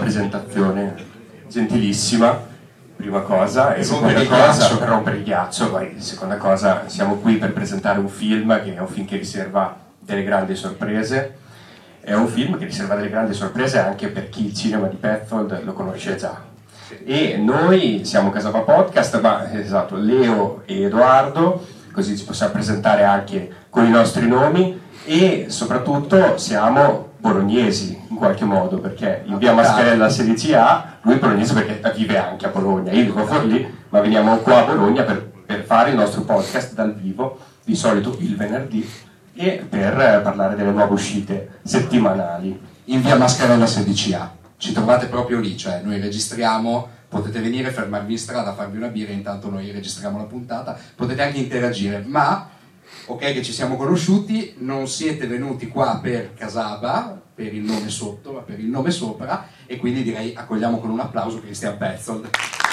presentazione gentilissima, prima cosa, e seconda cosa per rompere il ghiaccio, poi seconda cosa siamo qui per presentare un film che è un film che riserva delle grandi sorprese, è un film che riserva delle grandi sorprese anche per chi il cinema di Petzold lo conosce già. E noi siamo Casava Podcast, ma esatto, Leo e Edoardo, così ci possiamo presentare anche con i nostri nomi, e soprattutto siamo bolognesi in qualche modo, perché in via Mascarella 16A, lui è bolognese perché vive anche a Bologna, io vivo fuori lì, ma veniamo qua a Bologna per fare il nostro podcast dal vivo, di solito il venerdì, e per parlare delle nuove uscite settimanali. In via Mascarella 16A, ci trovate proprio lì, cioè noi registriamo, potete venire, fermarvi in strada, farvi una birra, intanto noi registriamo la puntata, potete anche interagire, ma ok che ci siamo conosciuti, non siete venuti qua per Casaba, per il nome sotto, ma per il nome sopra, e quindi direi accogliamo con un applauso Christian Petzold.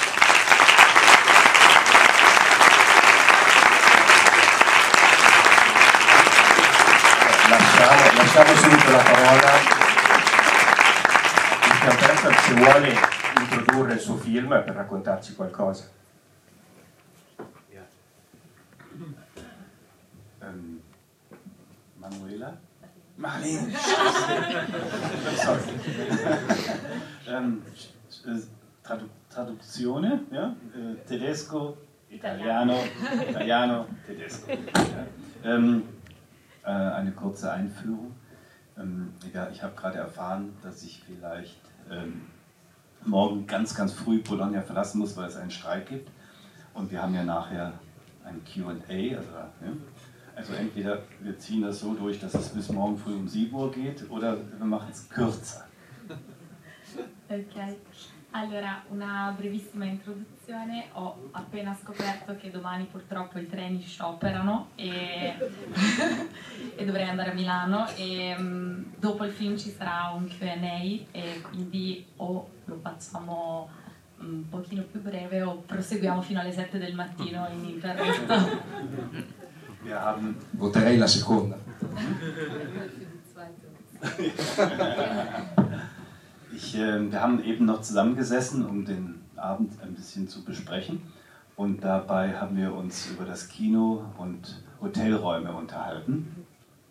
Lasciamo subito la parola a Christian Petzold, se vuole introdurre il suo film per raccontarci qualcosa. Manuela? Marlene! Traduzione, ja? Tedesco, Italiano, Tedesco. Ja? Eine kurze Einführung. Ja, ich habe gerade erfahren, dass ich vielleicht morgen ganz früh Bologna verlassen muss, weil es einen Streik gibt. Und wir haben ja nachher ein Q&A, also entweder wir ziehen das so durch, dass es bis morgen früh um 7 Uhr geht, oder wir machen es kürzer. Ok, allora una brevissima introduzione. Ho appena scoperto che domani purtroppo i treni scioperano e dovrei andare a Milano, e dopo il film ci sarà un Q&A, e quindi o lo facciamo un pochino più breve o proseguiamo fino alle 7 del mattino ininterrotto. Voterei la seconda. Wir haben eben noch zusammengesessen, um den Abend ein bisschen zu besprechen, und dabei haben wir uns über das Kino und Hotelräume unterhalten.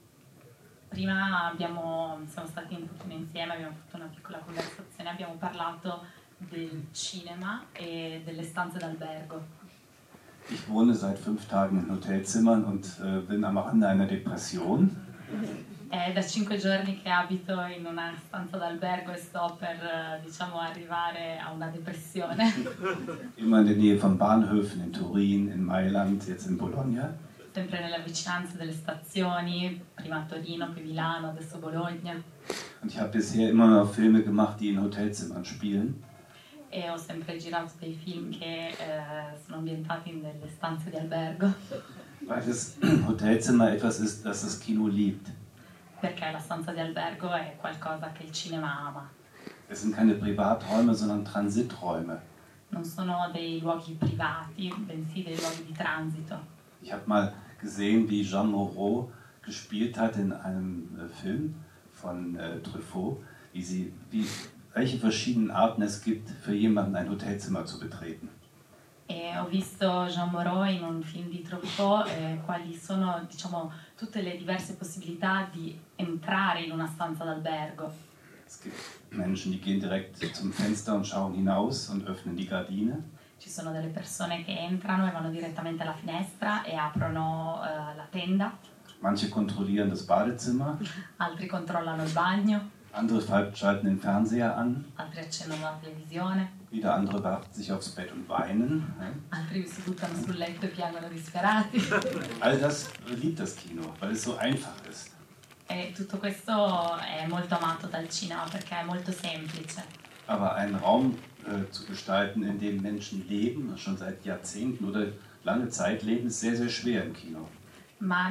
Prima siamo stati un pochino insieme, abbiamo fatto una piccola conversazione, abbiamo parlato del cinema e delle stanze d'albergo. Ich wohne seit 5 Tagen in Hotelzimmern und bin am Rande einer Depression. È da 5 giorni che abito in una stanza d'albergo e sto per, arrivare a una depressione. Immer in der Nähe von Bahnhöfen in Turin, in Mailand, jetzt in Bologna. Sempre nella vicinanza delle stazioni, prima a Torino, poi Milano, adesso Bologna. Und ich habe bisher immer noch Filme gemacht, die in Hotelzimmern spielen. E ho sempre girato dei film che sono ambientati nelle stanze di albergo. Weil das Hotelzimmer etwas ist, das das Kino liebt. Perché la stanza di albergo è qualcosa che il cinema ama. Es sind keine Privaträume, sondern Transiträume. Non sono dei luoghi privati, bensì dei luoghi di transito. Ich habe mal gesehen, wie Jean Moreau gespielt hat in einem Film von Truffaut, welche verschiedenen Arten es gibt, für jemanden ein Hotelzimmer zu betreten. E ho visto Jean Moreau in un film di Truffaut, quali sono, tutte le diverse possibilità di entrare in una stanza d'albergo. Es gibt Menschen, die gehen direkt zum Fenster und schauen hinaus und öffnen die Gardine. Ci sono delle persone che entrano e vanno direttamente alla finestra e aprono la tenda. Manche kontrollieren das Badezimmer. Altri controllano il bagno. Andere schalten den Fernseher an. Altri accendono la televisione. Wieder andere werfen sich aufs Bett und weinen. Altri si buttano sul letto e piangono disperati. All das liebt das Kino, weil es so einfach ist. E tutto questo è molto amato dal cinema perché è molto semplice. Aber einen Raum zu gestalten, in dem Menschen leben, schon seit Jahrzehnten oder lange Zeit leben, ist sehr schwer im Kino. Ma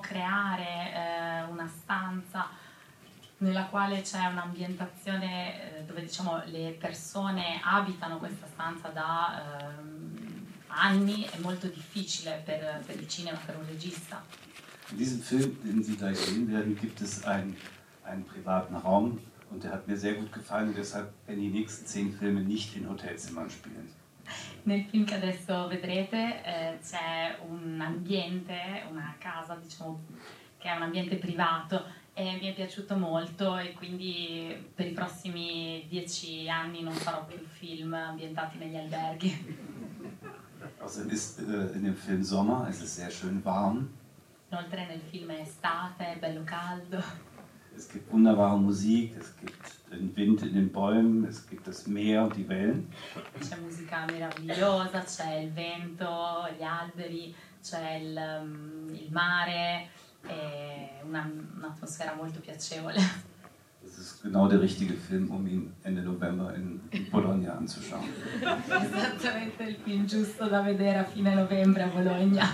creare una stanza nella quale c'è un'ambientazione dove le persone abitano questa stanza da anni è molto difficile per il cinema, per un regista. In diesem Film, den Sie gleich sehen werden, gibt es einen privaten Raum, Und der hat mir sehr gut gefallen und deshalb werden die nächsten 10 Filme nicht in Hotelzimmern spielen. Nel film che adesso vedrete c'è un ambiente, una casa diciamo che è un ambiente privato e mi è piaciuto molto e quindi per i prossimi 10 anni non farò più film ambientati negli alberghi. Außerdem ist in dem Film Sommer, es ist sehr schön warm. Inoltre nel film è estate, è bello caldo. Es gibt wunderbare Musik, es gibt den Wind in den Bäumen, es gibt das Meer und die Wellen. C'è musica meravigliosa, c'è il vento, gli alberi, c'è il mare, è un'atmosfera molto piacevole. Das ist genau der richtige Film, um ihn Ende November in Bologna anzuschauen. Esattamente il film giusto da vedere a fine novembre a Bologna.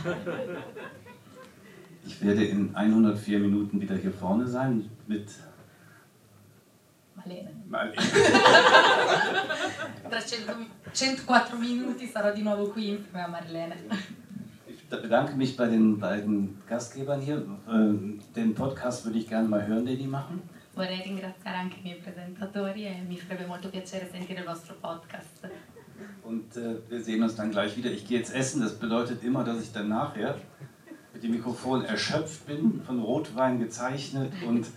Ich werde in 104 Minuten wieder hier vorne sein mit Marlene. Marlene. Tra 104 minuti sarò di nuovo qui insieme a Marlene. Ich bedanke mich bei den beiden Gastgebern hier. Den Podcast würde ich gerne mal hören, den die machen. Vorrei ringraziare anche i miei presentatori e mi farebbe molto piacere sentire il vostro podcast. Und wir sehen uns dann gleich wieder. Ich gehe jetzt essen, das bedeutet immer, dass ich dann nachher mit dem Mikrofon erschöpft bin, von Rotwein gezeichnet,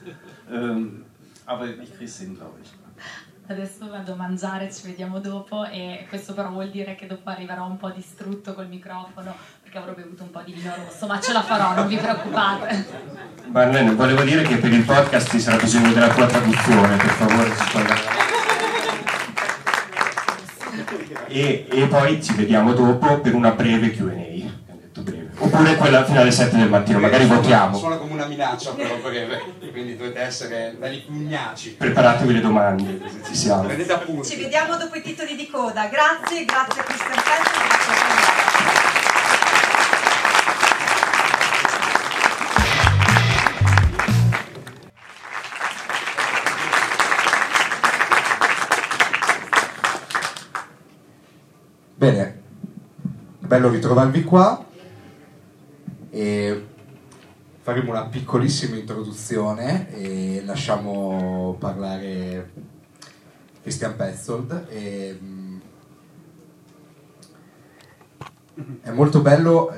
aber ich kriege es hin, glaube ich. Adesso vado a mangiare, ci vediamo dopo e questo però vuol dire che dopo arriverò un po' distrutto col microfono perché avrò bevuto un po' di vino rosso, ma ce la farò, non vi preoccupate. Marlene, volevo dire che per il podcast ci sarà bisogno della tua traduzione, per favore. E poi ci vediamo dopo per una breve Q&A. Oppure quella fino alle 7 del mattino, magari votiamo. Suona come una minaccia però breve, quindi dovete essere belli pugnaci. Preparatevi le domande, così ci siamo. Prendete appunti. Ci vediamo dopo i titoli di coda. Grazie, grazie a Christian Petto, grazie a Bene, bello ritrovarvi qua e faremo una piccolissima introduzione e lasciamo parlare Christian Petzold. È molto bello,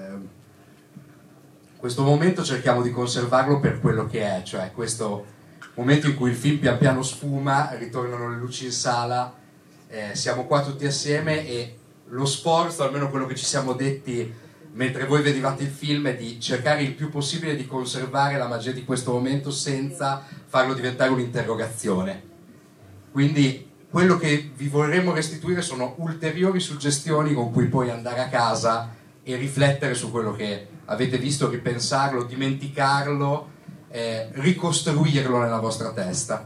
questo momento cerchiamo di conservarlo per quello che è, cioè questo momento in cui il film pian piano sfuma, ritornano le luci in sala, siamo qua tutti assieme e lo sforzo, almeno quello che ci siamo detti mentre voi vedevate il film, è di cercare il più possibile di conservare la magia di questo momento senza farlo diventare un'interrogazione. Quindi quello che vi vorremmo restituire sono ulteriori suggestioni con cui poi andare a casa e riflettere su quello che avete visto, ripensarlo, dimenticarlo, ricostruirlo nella vostra testa.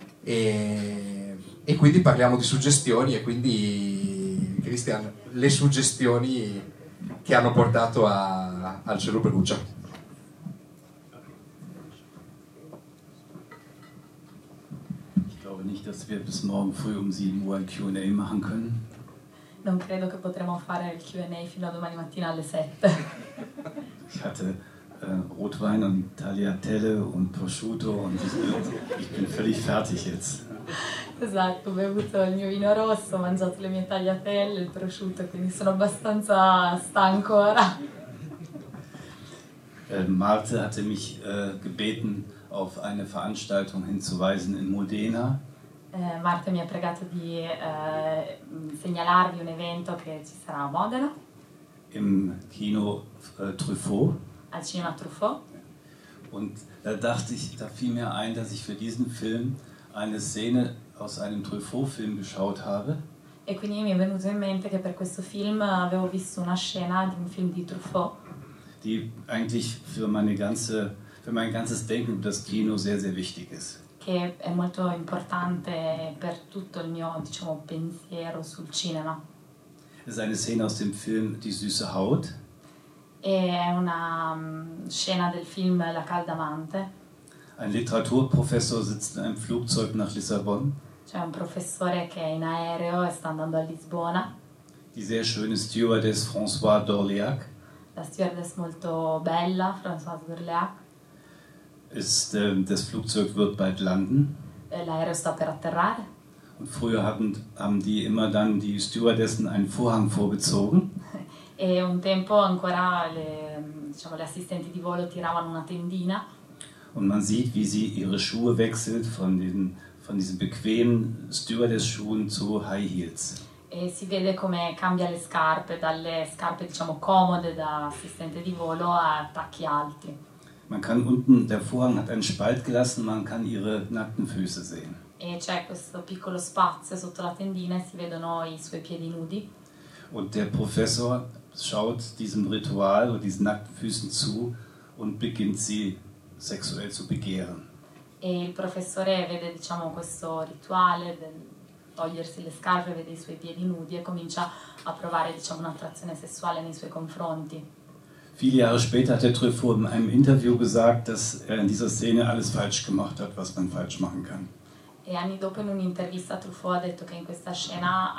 E quindi parliamo di suggestioni e quindi, Christian, le suggestioni che hanno portato al Cielo Perugia. Ich glaube nicht, dass wir bis morgen früh um 7 Uhr ein Q&A machen können. Non credo che potremo fare il Q&A fino a domani mattina alle 7. Ich hatte Rotwein und Tagliatelle und Prosciutto und ich bin völlig fertig jetzt. Esatto, ho bevuto il mio vino rosso, ho mangiato le mie tagliatelle, il prosciutto, quindi sono abbastanza stanco ora. Marte hatte mich gebeten, auf eine Veranstaltung hinzuweisen in Modena. Marta mi ha pregato di segnalarvi un evento che ci sarà a Modena. Im Kino Truffaut. Al cinema Truffaut. Und da fiel mir ein, dass ich für diesen Film eine Szene aus einem Truffaut-Film geschaut habe. E quindi mi è venuto in mente che per questo film avevo visto una scena di un film di Truffaut. Die eigentlich für mein ganzes Denken über das Kino sehr, sehr wichtig ist. Che è molto importante per tutto il mio, diciamo, pensiero sul cinema. Es ist eine Szene aus dem Film Die süße Haut. È una scena del film La calda amante. Ein Literaturprofessor sitzt in einem Flugzeug nach Lissabon. C'è un professore che è in aereo e sta andando a Lisbona. Die sehr schöne Stewardess Françoise d'Orléac. La stewardess molto bella, Françoise d'Orléac. Das Flugzeug wird bald landen. l'aereo sta per atterrare. Und früher haben die immer dann die Stewardessen einen Vorhang vorgezogen. E un tempo ancora diciamo, le assistenti di volo tiravano una tendina. Und man sieht, wie sie ihre Schuhe wechselt von diesen bequemen Stewardess-Schuhen zu High Heels. E si vede come cambia le scarpe, dalle scarpe diciamo comode da assistente di volo a tacchi alti. Man kann unten, der Vorhang hat einen Spalt gelassen, man kann ihre nackten Füße sehen. E c'è questo piccolo spazio sotto la tendina e si vedono i suoi piedi nudi. Und der Professor schaut diesem Ritual und diesen nackten Füßen zu und beginnt sie sexuell zu begehren. E il professore vede diciamo questo rituale del togliersi le scarpe, vede i suoi piedi nudi e comincia a provare diciamo, un'attrazione sessuale nei suoi confronti. Viele Jahre später hat der Truffaut in einem Interview gesagt, dass er in dieser Szene alles falsch gemacht hat, was man falsch machen kann. E anni dopo in un'intervista Truffaut ha detto che in questa scena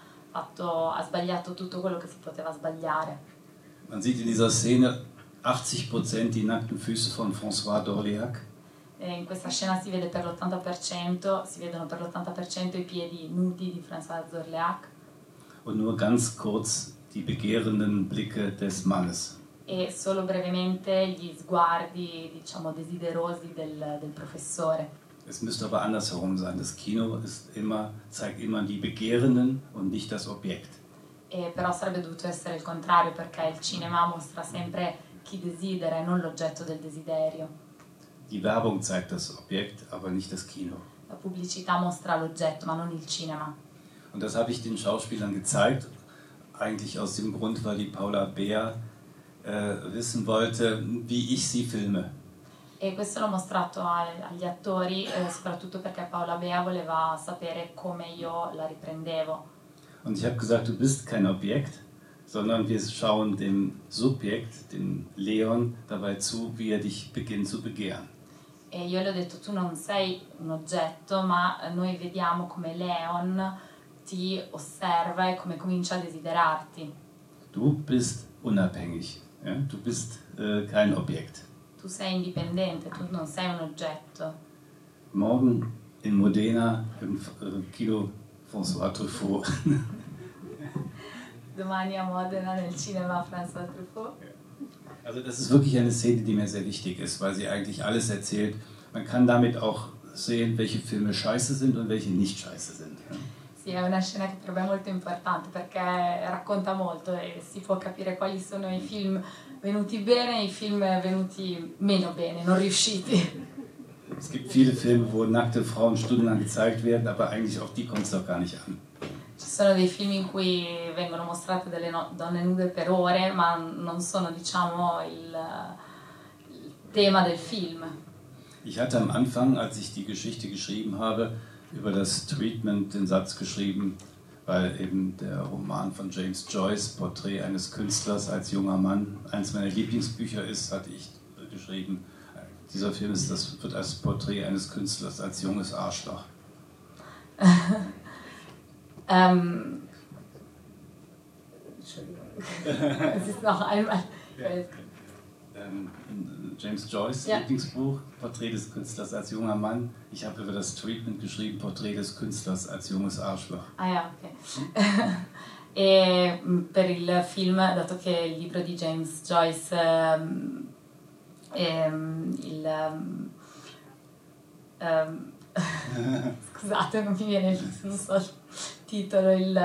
ha sbagliato tutto quello che si poteva sbagliare. Man sieht in dieser Szene 80% die nackten Füße von François d'Orléac. E in questa scena si vede per l'80%, si vedono per l'80% i piedi nudi di François d'Orléac. Und nur ganz kurz die begehrenden Blicke des Mannes. E solo brevemente gli sguardi, diciamo, desiderosi del professore. Es müsste aber andersherum sein. Das Kino zeigt immer die Begehrenden und nicht das Objekt. E però sarebbe dovuto essere il contrario, perché il cinema mostra sempre chi desidera e non l'oggetto del desiderio. Die Werbung zeigt das Objekt, aber nicht das Kino. La pubblicità mostra l'oggetto, ma non il cinema. Und das habe ich den Schauspielern gezeigt, eigentlich aus dem Grund, weil die Paula Beer wissen wollte, wie ich sie filme. E questo l'ho mostrato agli attori, soprattutto perché Paola Bea voleva sapere come io la riprendevo. Und ich habe gesagt, du bist kein Objekt, sondern wir schauen dem Subjekt, dem Leon, dabei zu, wie er dich beginnt zu begehren. E io le ho detto, tu non sei un oggetto, ma noi vediamo come Leon ti osserva e come comincia a desiderarti. Du bist unabhängig, ja? Du bist kein Objekt. Tu sei indipendente, tu non sei un oggetto. Morgen in Modena im Kino François Truffaut. Domani a Modena nel cinema François Truffaut. Also das ist wirklich eine Szene, die mir sehr wichtig ist, weil sie eigentlich alles erzählt. Man kann damit auch sehen, welche Filme scheiße sind und welche nicht scheiße sind. Sì, è una scena che per me è molto importante perché racconta molto e si può capire quali sono i film venuti bene e i film venuti meno bene, non riusciti. Es gibt viele Filme, wo nackte Frauen stundenlang gezeigt werden, aber eigentlich auf die kommt es doch gar nicht an. Ci sono dei film in cui vengono mostrate delle donne nude per ore, ma non sono, diciamo, il tema del film. Ich hatte am Anfang, als ich die Geschichte geschrieben habe, über das Treatment den Satz geschrieben, weil eben der Roman von James Joyce, Porträt eines Künstlers als junger Mann, eines meiner Lieblingsbücher ist, hatte ich geschrieben, dieser Film wird als Porträt eines Künstlers als junges Arschloch. Es ist noch einmal. James Joyce, ja. Lieblingsbuch, Porträt des Künstlers als junger Mann. Ich habe über das Treatment geschrieben, Porträt des Künstlers als junges Arschloch. Ah ja, ok. E per il film, dato che il libro di James Joyce, scusate, non mi viene non so il titolo, il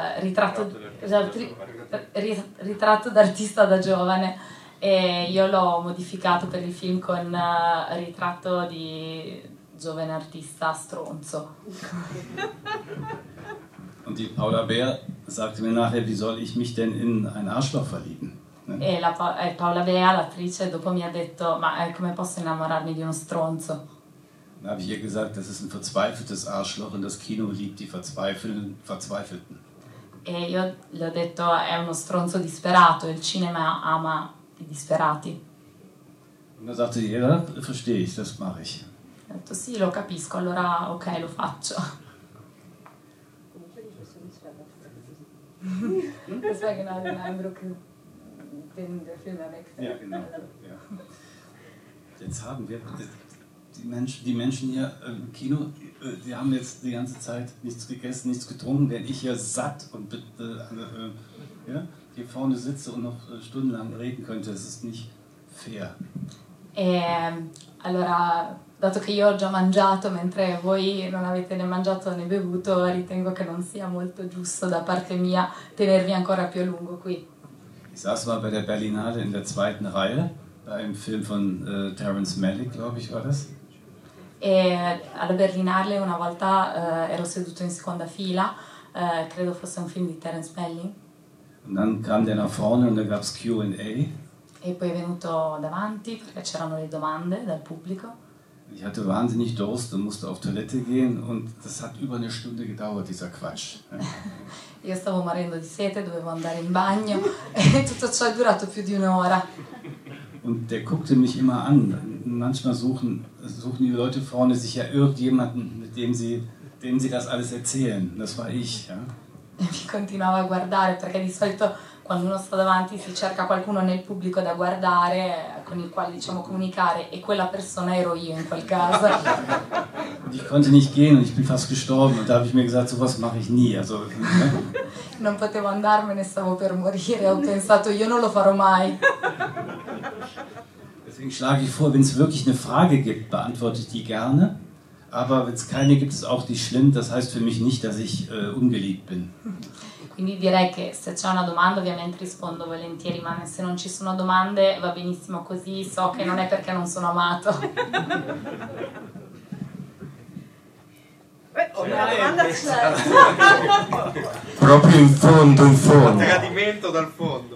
ritratto d'artista da giovane. E io l'ho modificato per il film con ritratto di giovane artista stronzo. Und die Paula Beer sagte mir nachher, wie soll ich mich denn in ein Arschloch verlieben? E Paola Bea, l'attrice, dopo mi ha detto, ma come posso innamorarmi di uno stronzo? Dann habe ich ihr gesagt, das ist ein verzweifeltes Arschloch und das Kino liebt die Verzweifelten. E io le ho detto, è uno stronzo disperato, il cinema ama i disperati. Und dann sagte sie, ja, verstehe ich, das mache ich. Ho detto, sì, lo capisco, allora ok, lo faccio. Das war genau den Eindruck, den der Film erweckt. Ja, genau. Ja. Jetzt haben wir die Menschen hier im Kino, die haben jetzt die ganze Zeit nichts gegessen, nichts getrunken, während ich hier satt und ja, hier vorne sitze und noch stundenlang reden könnte. Das ist nicht fair. Allora, dato che io ho già mangiato mentre voi non avete né mangiato né bevuto, ritengo che non sia molto giusto da parte mia tenervi ancora più a lungo qui. Ich saß mal bei der Berlinale in der zweiten Reihe, bei einem Film von Terrence Malick, glaube ich, war das. E alla Berlinale una volta ero seduto in seconda fila, credo fosse un film di Terence Malick. Und dann kam der nach vorne und da gab es Q&A. E poi è venuto davanti perché c'erano le domande dal pubblico. Ich hatte wahnsinnig Durst und musste auf Toilette gehen und das hat über eine Stunde gedauert, dieser Quatsch. Io stavo morendo di sete, dovevo andare in bagno e tutto ciò è durato più di un'ora. Und der guckte mich immer an. Manchmal suchen die Leute vorne sich ja irgendjemanden, mit dem sie das alles erzählen. Das war ich. Ja? E mi continuava a guardare perché di solito quando uno sta davanti si cerca qualcuno nel pubblico da guardare, con il quale diciamo comunicare, e quella persona ero io in quel caso. Und ich konnte nicht gehen und ich bin fast gestorben und da habe ich mir gesagt, sowas mache ich nie. Also, Non potevo andarmene, stavo per morire, ho pensato io non lo farò mai. Deswegen schlage ich vor, wenn es wirklich eine Frage gibt, beantworte ich die gerne. Aber wenn es keine gibt, ist auch nicht schlimm. Das heißt für mich nicht, dass ich ungeliebt bin. Quindi direi che se c'è una domanda ovviamente rispondo volentieri, ma se non ci sono domande va benissimo così, so che non è perché non sono amato. Una domanda c'è. Proprio in fondo, in fondo. Tradimento dal fondo.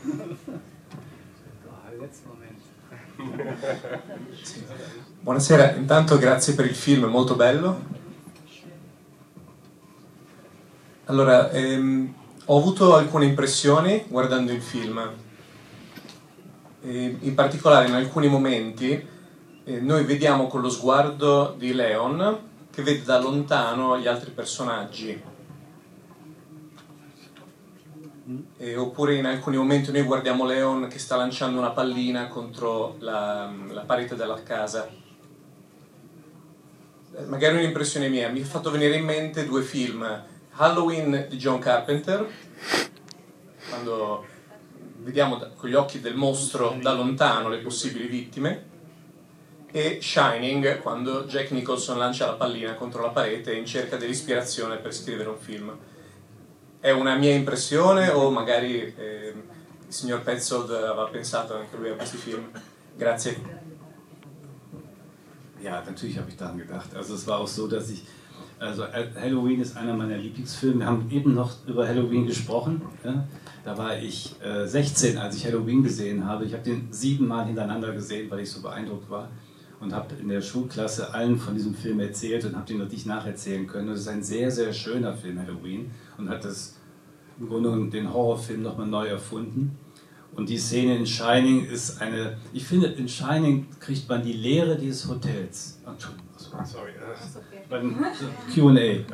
Buonasera, intanto grazie per il film, è molto bello. Allora, ho avuto alcune impressioni guardando il film. In particolare in alcuni momenti noi vediamo con lo sguardo di Leon che vede da lontano gli altri personaggi. Oppure in alcuni momenti noi guardiamo Leon che sta lanciando una pallina contro la parete della casa. Magari un'impressione mia, mi ha fatto venire in mente due film: Halloween di John Carpenter, quando vediamo con gli occhi del mostro da lontano le possibili vittime, e Shining, quando Jack Nicholson lancia la pallina contro la parete in cerca dell'ispirazione per scrivere un film. È una mia impressione o magari il signor Petzold aveva pensato anche lui a questi film? Grazie. Ja, natürlich habe ich daran gedacht. Also es war auch so, dass also Halloween ist einer meiner Lieblingsfilme. Wir haben eben noch über Halloween gesprochen. Ja? Da war ich 16, als ich Halloween gesehen habe. Ich habe den 7 Mal hintereinander gesehen, weil ich so beeindruckt war. Und habe in der Schulklasse allen von diesem Film erzählt und habe den noch nicht nacherzählen können. Und es ist ein sehr, sehr schöner Film, Halloween. Und hat das im Grunde genommen den Horrorfilm nochmal neu erfunden. Und die Szene in Shining ist eine, ich finde, in Shining kriegt man die Leere dieses Hotels. Entschuldigung, sorry. Q&A.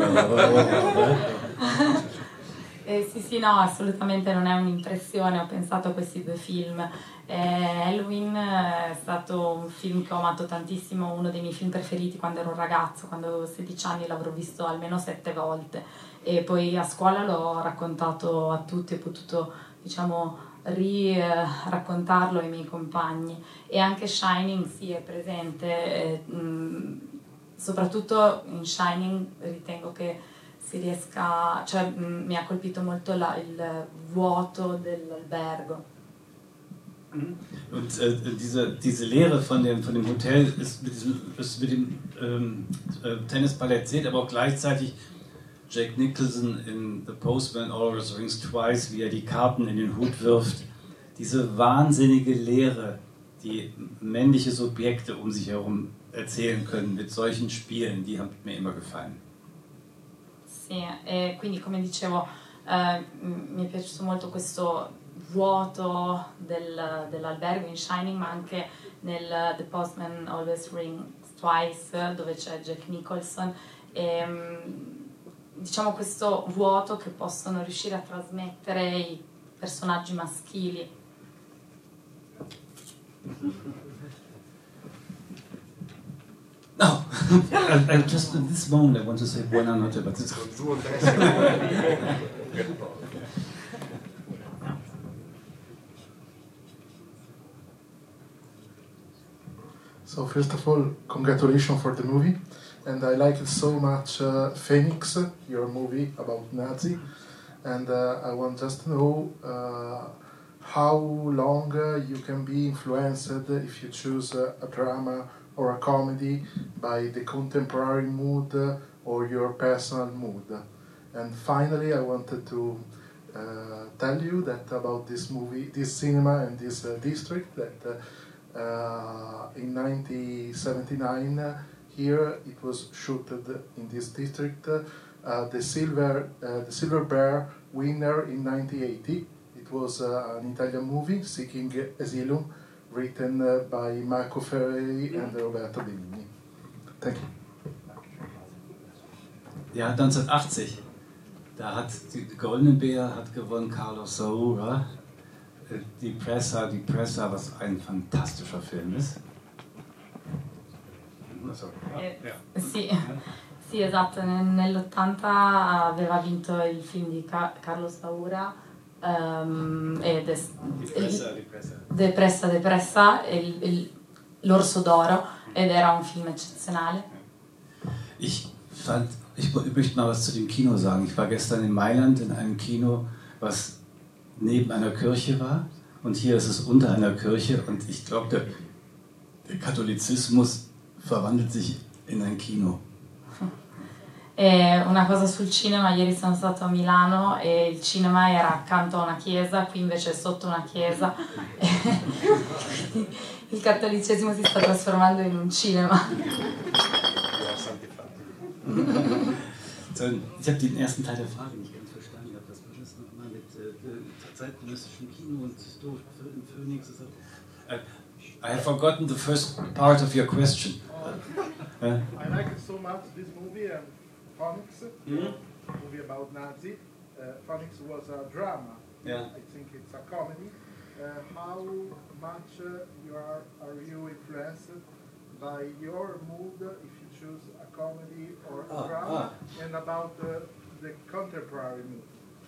Sì, no, assolutamente non è un'impressione, ho pensato a questi due film. Halloween è stato un film che ho amato tantissimo, uno dei miei film preferiti quando ero un ragazzo, quando avevo 16 anni l'avrò visto almeno 7 volte e poi a scuola l'ho raccontato a tutti, ho potuto diciamo raccontarlo ai miei compagni, e anche Shining sì è presente, soprattutto in Shining ritengo che si riesca, cioè mi ha colpito molto il vuoto dell'albergo. Und diese Lehre von dem Hotel ist mit dem Tennisball erzählt, aber auch gleichzeitig Jack Nicholson in The Postman Always Rings Twice, wie er die Karten in den Hut wirft. Diese wahnsinnige Lehre, die männliche Subjekte um sich herum erzählen können mit solchen Spielen, die haben mir immer gefallen. Sì, e quindi come dicevo mi è piaciuto molto questo vuoto dell'albergo in Shining, ma anche nel The Postman Always Rings Twice, dove c'è Jack Nicholson, e diciamo questo vuoto che possono riuscire a trasmettere i personaggi maschili. Just at this moment I want to say buonanotte, but it's So first of all, congratulations for the movie, and I liked so much Phoenix, your movie about Nazi, and I want just to know how long you can be influenced if you choose a drama or a comedy by the contemporary mood or your personal mood. And finally, I wanted to tell you that about this movie, this cinema and this district, that in 1979 here it was shooted in this district, the Silver Bear winner in 1980. It was an Italian movie, Seeking Asylum, written by Marco Ferreri and Roberto Benigni. Thank you. Ja, 1980. Da hat die Goldene Bär hat gewonnen, Carlos Saura. Die Pressa, was ein fantastischer Film ist. Sì, esatto, nell'80 aveva vinto il film di Carlos Saura ed è Depressa, l'Orso d'Oro, ed era un film eccezionale. Ich möchte mal was zu dem Kino sagen. Ich war gestern in Mailand in einem Kino, was neben einer Kirche war, und hier ist es unter einer Kirche, und ich glaube, der Katholizismus verwandelt sich in ein Kino. E una cosa sul cinema: ieri sono stato a Milano e il cinema era accanto a una chiesa, qui invece è sotto una chiesa. Il cattolicesimo si sta trasformando in un cinema. Ich habe den ersten Teil der Frage nicht ganz verstanden. Was war das nochmal mit zeitgenössischem Kino und historischem Phoenix? I have forgotten the first part of your question. I like so much this movie, Phoenix, movie about Nazi. Phoenix was a drama. Yeah. I think it's a comedy. How much are you influenced by your mood if you choose a comedy or a drama, and about the contemporary mood?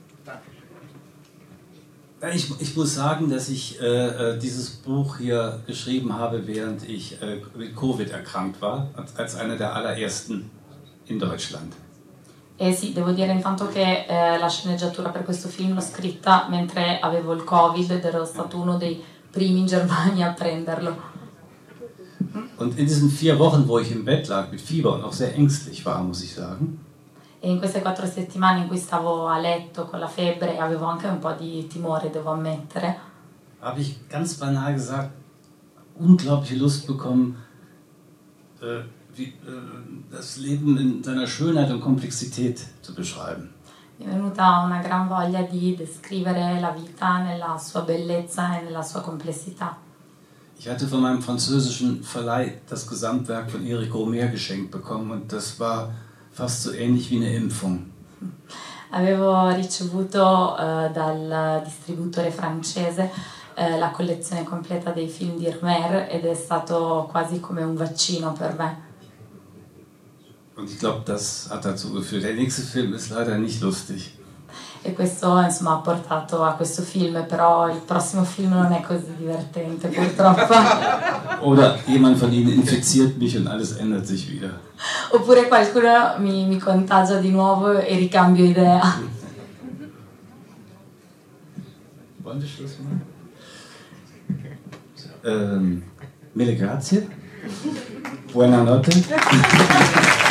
Ich muss sagen, dass ich dieses Buch hier geschrieben habe, während ich mit Covid erkrankt war, als einer der allerersten in Deutschland. Sì, devo dire intanto che la sceneggiatura per questo film l'ho scritta mentre avevo il Covid ed ero stato uno dei primi in Germania a prenderlo. Und in diesen 4 Wochen, wo ich im Bett lag mit Fieber und auch sehr ängstlich war, muss ich sagen. E in queste 4 settimane in cui stavo a letto con la febbre avevo anche un po' di timore, devo ammettere. Habe ich ganz banal gesagt, unglaubliche Lust bekommen, das Leben in seiner Schönheit und Komplexität zu beschreiben. Mi è venuta una gran voglia di descrivere la vita nella sua bellezza e nella sua complessità. Ich hatte von meinem französischen Verleih das Gesamtwerk von Eric Romer geschenkt bekommen, und das war fast so ähnlich wie eine Impfung. Avevo ricevuto dal distributore francese la collezione completa dei film di Romer ed è stato quasi come un vaccino per me. Und ich glaube, das hat dazu geführt. Der nächste Film ist leider nicht lustig. E questo insomma ha portato a questo film, però il prossimo film non è così divertente purtroppo. Oder jemand von Ihnen infiziert mich und alles ändert sich wieder. Oppure qualcuno mi contagia di nuovo e ricambio idea. Wollen wir Schluss machen? Mille grazie. Buonanotte.